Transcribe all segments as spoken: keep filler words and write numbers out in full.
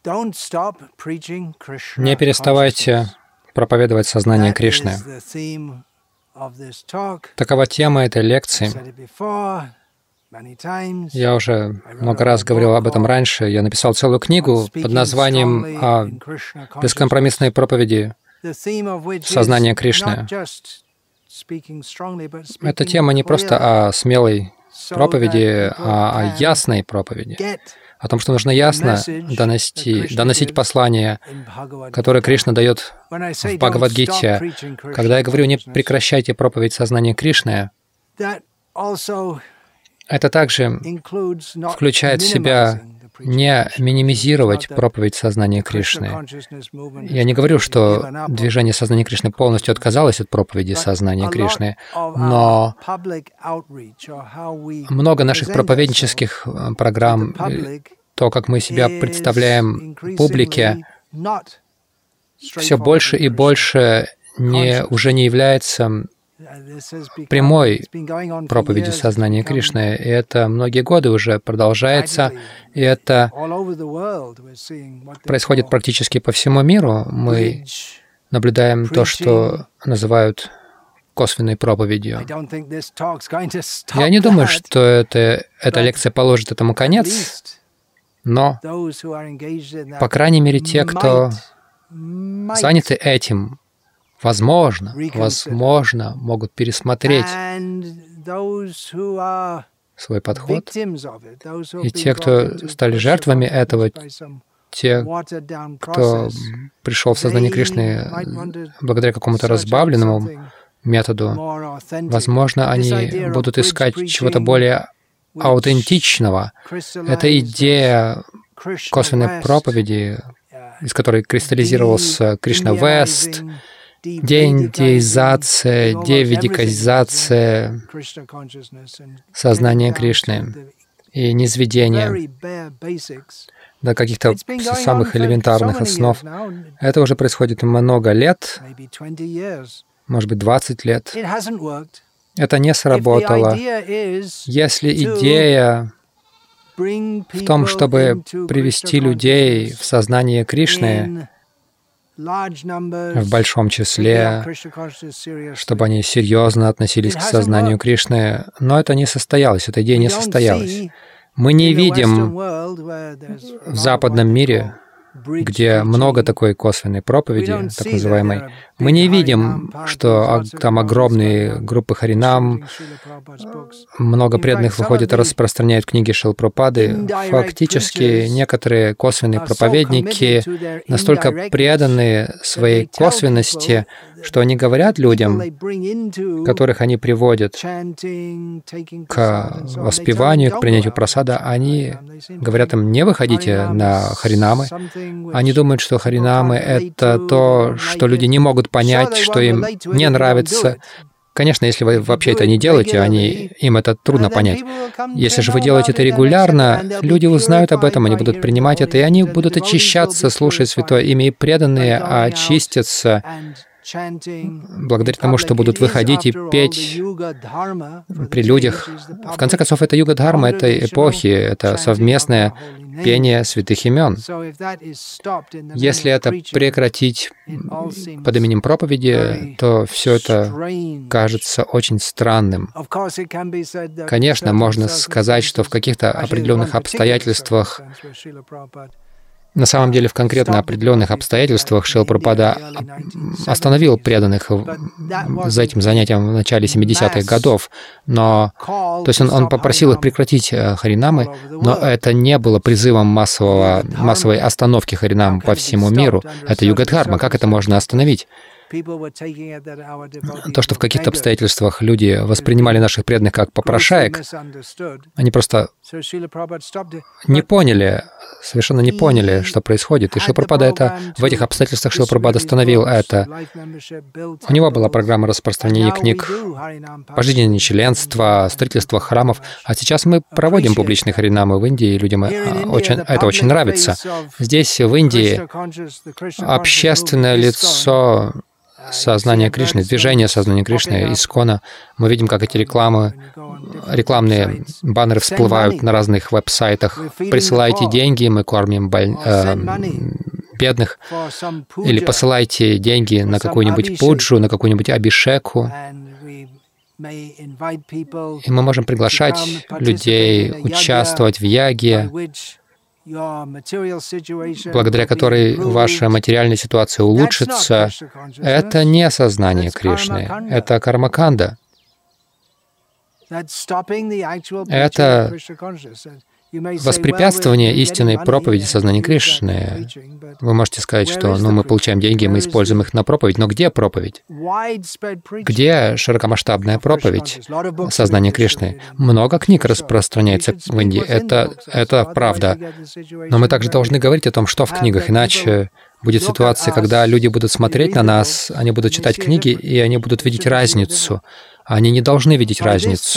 Не переставайте проповедовать сознание Кришны. Такова тема этой лекции. Я уже много раз говорил об этом раньше. Я написал целую книгу под названием «Бескомпромиссные проповеди сознания Кришны». Эта тема не просто о смелой проповеди, а о ясной проповеди. О том, что нужно ясно донести, доносить послание, которое Кришна дает в Бхагавад-гите. Когда я говорю «не прекращайте проповедь сознания Кришны», это также включает в себя не минимизировать проповедь сознания Кришны. Я не говорю, что движение сознания Кришны полностью отказалось от проповеди сознания Кришны, но много наших проповеднических программ, то, как мы себя представляем публике, все больше и больше не, уже не является прямой проповедью сознания Кришны. И это многие годы уже продолжается, и это происходит практически по всему миру. Мы наблюдаем то, что называют косвенной проповедью. Я не думаю, что это, эта лекция положит этому конец, но, по крайней мере, те, кто заняты этим, Возможно, возможно, могут пересмотреть свой подход. И те, кто стали жертвами этого, те, кто пришел в сознание Кришны благодаря какому-то разбавленному методу, возможно, они будут искать чего-то более аутентичного. Это идея косвенной проповеди, из которой кристаллизировался Кришна Вест, деиндеизация, деведикализация сознания Кришны и низведение до каких-то самых элементарных основ. Это уже происходит много лет, может быть, двадцать лет. Это не сработало. Если идея в том, чтобы привести людей в сознание Кришны в большом числе, чтобы они серьезно относились к сознанию Кришны, но это не состоялось, эта идея не состоялась. Мы не видим в западном мире, где много такой косвенной проповеди, так называемой, мы не видим, что там огромные группы харинам, много преданных выходит и распространяют книги Шрилы Прабхупады. Фактически некоторые косвенные проповедники настолько преданы своей косвенности, что они говорят людям, которых они приводят к воспеванию, к принятию прасада, они говорят им: не выходите на харинамы. Они думают, что харинамы — это то, что люди не могут понять, что им не нравится. Конечно, если вы вообще это не делаете, они, им это трудно понять. Если же вы делаете это регулярно, люди узнают об этом, они будут принимать это, и они будут очищаться, слушая Святое Имя, и преданные очистятся благодаря тому, что будут выходить и петь при людях. В конце концов, это юга-дхарма этой эпохи, это совместное пение святых имен. Если это прекратить под именем проповеди, то все это кажется очень странным. Конечно, можно сказать, что в каких-то определенных обстоятельствах, на самом деле, в конкретно определенных обстоятельствах Шрила Прабхупада остановил преданных за этим занятием в начале семидесятых годов, но, то есть он, он попросил их прекратить харинамы, но это не было призывом массового, массовой остановки харинам по всему миру. Это юга-дхарма. Как это можно остановить? То, что в каких-то обстоятельствах люди воспринимали наших преданных как попрошаек, они просто не поняли, совершенно не поняли, что происходит. И Шрила Прабхупада это, в этих обстоятельствах Шрила Прабхупада остановил это. У него была программа распространения книг, пожизненное членство, строительство храмов. А сейчас мы проводим публичные харинамы в Индии, и людям очень, это очень нравится. Здесь, в Индии, общественное лицо сознания Кришны, движение сознания Кришны, Искона. Мы видим, как эти рекламы, рекламные баннеры всплывают на разных веб-сайтах. Присылайте деньги, мы кормим боль... э, бедных. Или посылайте деньги на какую-нибудь пуджу, на какую-нибудь абишеку. И мы можем приглашать людей участвовать в яге, благодаря которой ваша материальная ситуация улучшится. Это не сознание Кришны, это кармаканда. Это воспрепятствование истинной проповеди сознания Кришны. Вы можете сказать, что ну, мы получаем деньги, мы используем их на проповедь. Но где проповедь? Где широкомасштабная проповедь сознания Кришны? Много книг распространяется в Индии. Это, это правда. Но мы также должны говорить о том, что в книгах, иначе будет ситуация, когда люди будут смотреть на нас, они будут читать книги, и они будут видеть разницу. Они не должны видеть разницу.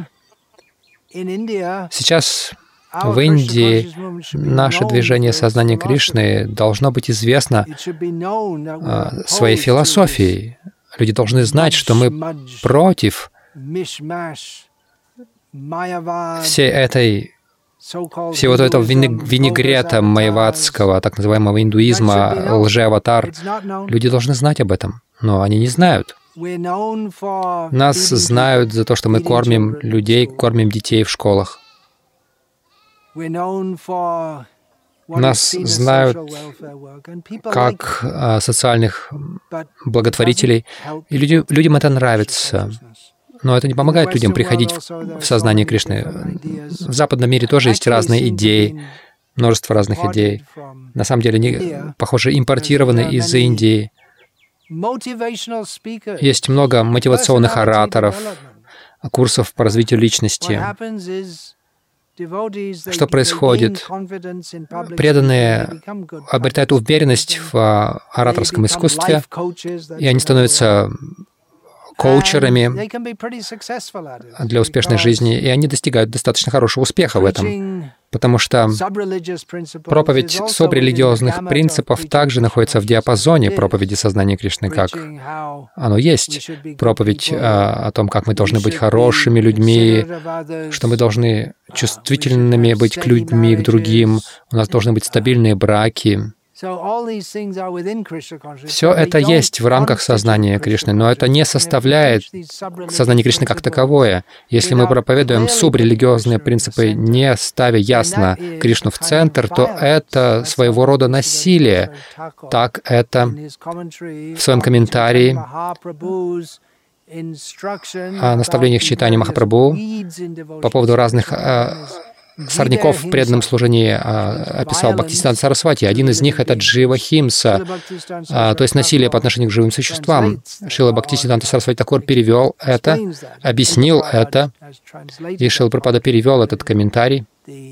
Сейчас в Индии наше движение сознания Кришны должно быть известно э, своей философией. Люди должны знать, что мы против всей этой, всего этого винегрета майяватского, так называемого индуизма, лжеаватар. Люди должны знать об этом, но они не знают. Нас знают за то, что мы кормим людей, кормим детей в школах. Нас знают как а, социальных благотворителей, и люди, людям это нравится. Но это не помогает людям приходить в, в сознание Кришны. В западном мире тоже есть разные идеи, множество разных идей. На самом деле, они, похоже, импортированы из Индии. Есть много мотивационных ораторов, курсов по развитию личности. Что происходит? Преданные обретают уверенность в ораторском искусстве, и они становятся коучерами для успешной жизни, и они достигают достаточно хорошего успеха в этом, потому что проповедь субрелигиозных принципов также находится в диапазоне проповеди сознания Кришны, как оно есть. Проповедь о, о том, как мы должны быть хорошими людьми, что мы должны чувствительными быть к людьми, к другим, у нас должны быть стабильные браки. Все это есть в рамках сознания Кришны, но это не составляет сознание Кришны как таковое. Если мы проповедуем субрелигиозные принципы, не ставя ясно Кришну в центр, то это своего рода насилие. Так это в своем комментарии о наставлениях Чайтаньи Махапрабху по поводу разных сорняков в преданном служении а, описал Бхактисиданта Сарасвати. Один из них — это джива-химса, а, то есть насилие по отношению к живым существам. Шрила Бхактисиданта Сарасвати Такур перевел это, объяснил это, и Шрила Прабхупада перевел этот комментарий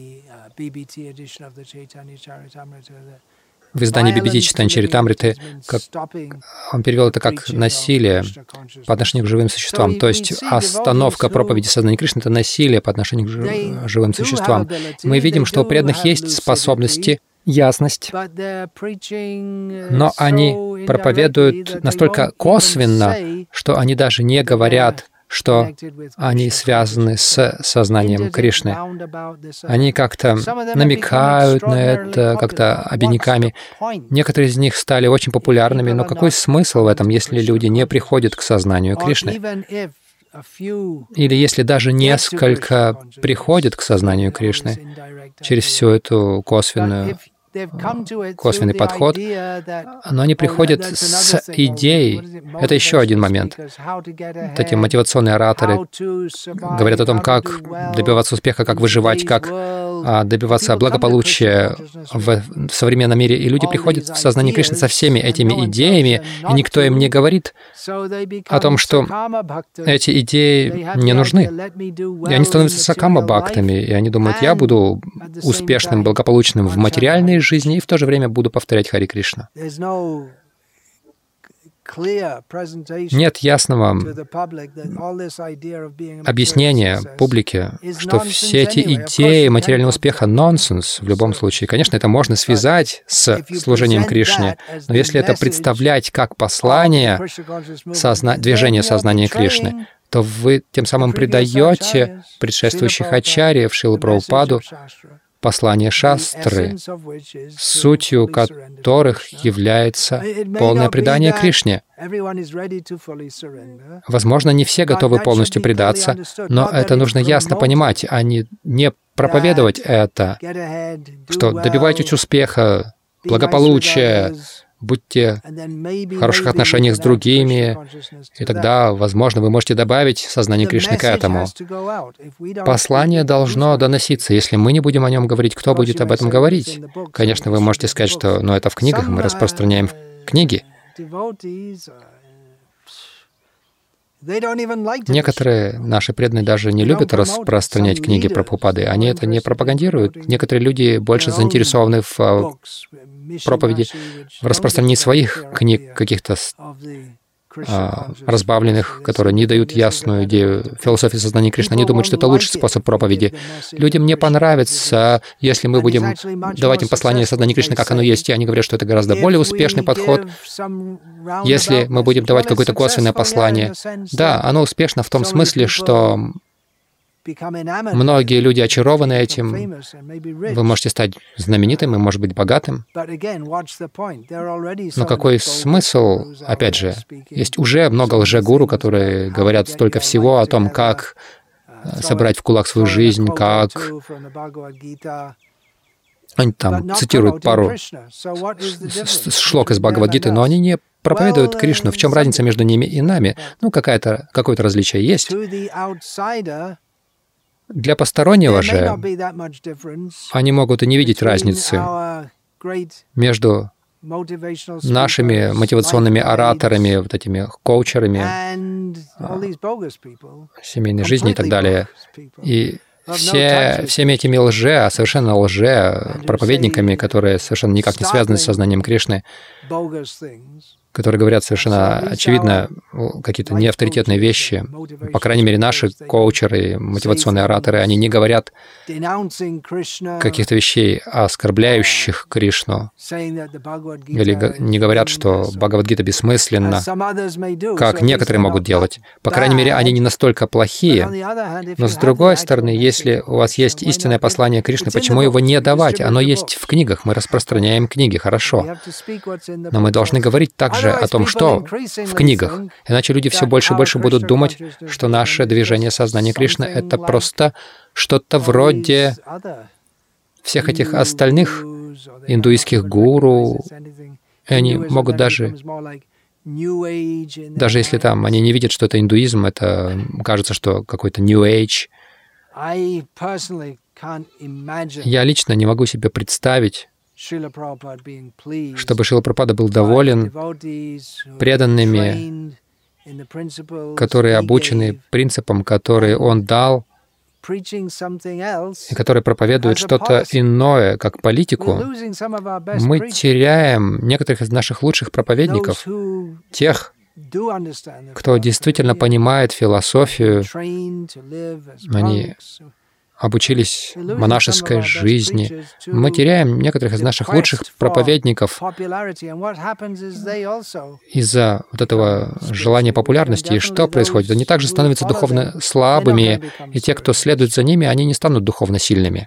в издании би би ти Чайтанья Чаритамриты, как он перевел это как насилие по отношению к живым существам. То есть остановка проповеди сознания Кришны — это насилие по отношению к живым существам. Мы видим, что у преданных есть способности, ясность, но они проповедуют настолько косвенно, что они даже не говорят, что они связаны с сознанием Кришны. Они как-то намекают на это, как-то обиняками. Некоторые из них стали очень популярными, но какой смысл в этом, если люди не приходят к сознанию Кришны? Или если даже несколько приходят к сознанию Кришны через всю эту косвенную косвенный подход, но они приходят с идеей. Это еще один момент. Вот эти мотивационные ораторы говорят о том, как добиваться успеха, как выживать, как добиваться благополучия в современном мире. И люди приходят в сознание Кришны со всеми этими идеями, и никто им не говорит о том, что эти идеи не нужны. И они становятся сакама-бхактами, и они думают, я буду успешным, благополучным в материальной жизни и в то же время буду повторять Хари Кришна. нет ясного объяснения публике, что все эти идеи материального успеха — нонсенс в любом случае. Конечно, это можно связать с служением Кришне, но если это представлять как послание созна... движения сознания Кришны, то вы тем самым предаете предшествующих ачарьев Шрилу Прабхупаду, послание шастры, сутью которых является полное предание Кришне. Возможно, не все готовы полностью предаться, но это нужно ясно понимать, а не, не проповедовать это, что добивайтесь успеха, благополучия, будьте в хороших отношениях с другими, и тогда, возможно, вы можете добавить сознание Кришны к этому. Послание должно доноситься. Если мы не будем о нем говорить, кто будет об этом говорить? Конечно, вы можете сказать, что ну, это в книгах, мы распространяем книги. Некоторые наши преданные даже не любят распространять книги Прабхупады. Они это не пропагандируют. Некоторые люди больше заинтересованы в проповеди, в распространении своих книг, каких-то а, разбавленных, которые не дают ясную идею философии сознания Кришны. Они думают, что это лучший способ проповеди. Людям не понравится, если мы будем давать им послание сознания Кришны, как оно есть, и они говорят, что это гораздо более успешный подход. Если мы будем давать какое-то косвенное послание, да, оно успешно в том смысле, что многие люди очарованы этим. Вы можете стать знаменитым и, может быть, богатым. Но какой смысл? Опять же, есть уже много лжегуру, которые говорят столько всего о том, как собрать в кулак свою жизнь, как... Они там цитируют пару шлок из Бхагавад-гиты, но они не проповедуют Кришну. В чем разница между ними и нами? Ну, какая-то, какое-то различие есть. Для постороннего же они могут и не видеть разницы между нашими мотивационными ораторами, вот этими коучерами семейной жизни и так далее, и все, всеми этими лже, совершенно лже проповедниками, которые совершенно никак не связаны с сознанием Кришны, которые говорят совершенно очевидно какие-то неавторитетные вещи. По крайней мере, наши коучеры, мотивационные ораторы, они не говорят каких-то вещей, оскорбляющих Кришну, или не говорят, что Бхагавад-гита бессмысленна, как некоторые могут делать. По крайней мере, они не настолько плохие. Но с другой стороны, если у вас есть истинное послание Кришны, почему его не давать? Оно есть в книгах, мы распространяем книги, хорошо. Но мы должны говорить также о том, что в книгах. Иначе люди все больше и больше будут думать, что наше движение сознания Кришны — это просто что-то вроде всех этих остальных индуистских гуру. И они могут даже, даже если там они не видят, что это индуизм, это кажется, что какой-то New Age. Я лично не могу себе представить, чтобы Шрила Прабхупада был доволен преданными, которые обучены принципам, которые он дал, и которые проповедуют что-то иное, как политику. Мы теряем некоторых из наших лучших проповедников, тех, кто действительно понимает философию, они обучились монашеской жизни. Мы теряем некоторых из наших лучших проповедников из-за вот этого желания популярности. И что происходит? Они также становятся духовно слабыми, и те, кто следует за ними, они не станут духовно сильными.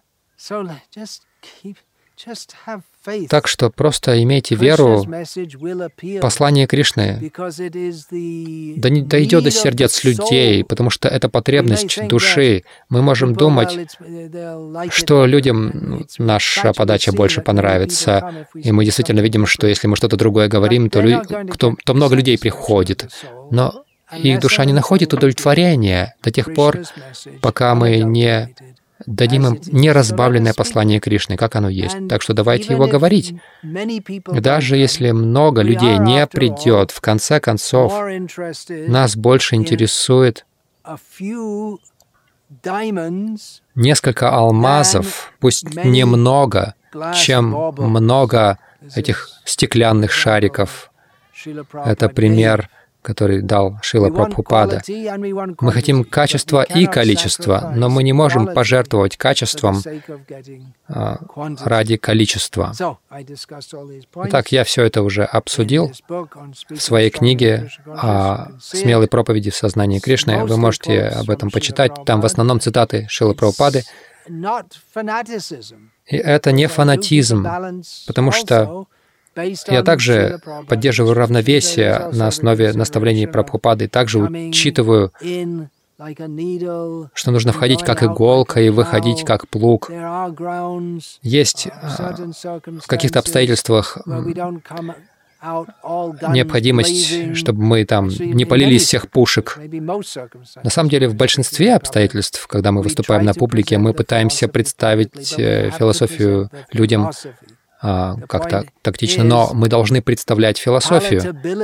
Так что просто имейте веру, послание Кришны да не дойдет до сердец людей, потому что это потребность души. Мы можем думать, что людям наша подача больше понравится, и мы действительно видим, что если мы что-то другое говорим, то, лю... то, то много людей приходит. Но их душа не находит удовлетворения до тех пор, пока мы не дадим им неразбавленное послание Кришны, как оно есть. Так что давайте его говорить. Даже если много людей не придет, в конце концов, нас больше интересует несколько алмазов, пусть немного, чем много этих стеклянных шариков Это пример, который дал Шрила Прабхупада. Мы хотим качества и количества, но мы не можем пожертвовать качеством а, ради количества. Итак, я все это уже обсудил в своей книге о смелой проповеди в сознании Кришны. Вы можете об этом почитать. Там в основном цитаты Шрилы Прабхупады. И это не фанатизм, потому что я также поддерживаю равновесие на основе наставлений Прабхупады, также учитываю, что нужно входить как иголка и выходить как плуг. Есть в каких-то обстоятельствах необходимость, чтобы мы там не полили из всех пушек. На самом деле, в большинстве обстоятельств, когда мы выступаем на публике, мы пытаемся представить философию людям как-то тактично, но мы должны представлять философию.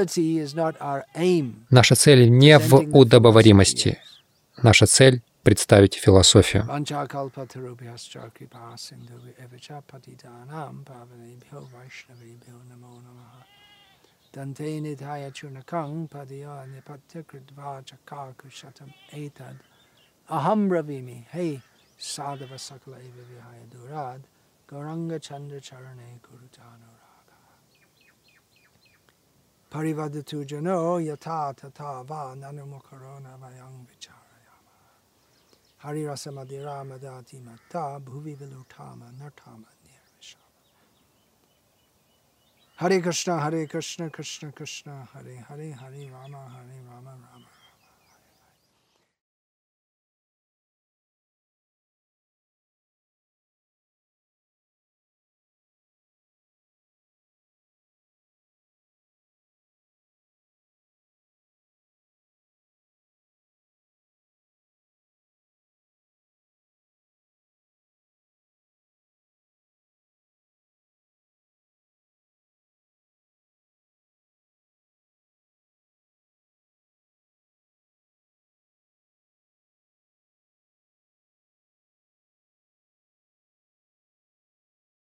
Наша цель не в удобоваримости. Наша цель — представить философию. Gauranga Chandra Charane Kurutanuraga Parivadatu Jano Yata Tata Va Nanumukarona Vayang Vicharayama Hari Rasamadira Madati Mata Bhuvi Vilutama Nartama Nirvishama Hare Krishna Hare Krishna Krishna Krishna Hare Hare Hare Rama Hare Rama Rama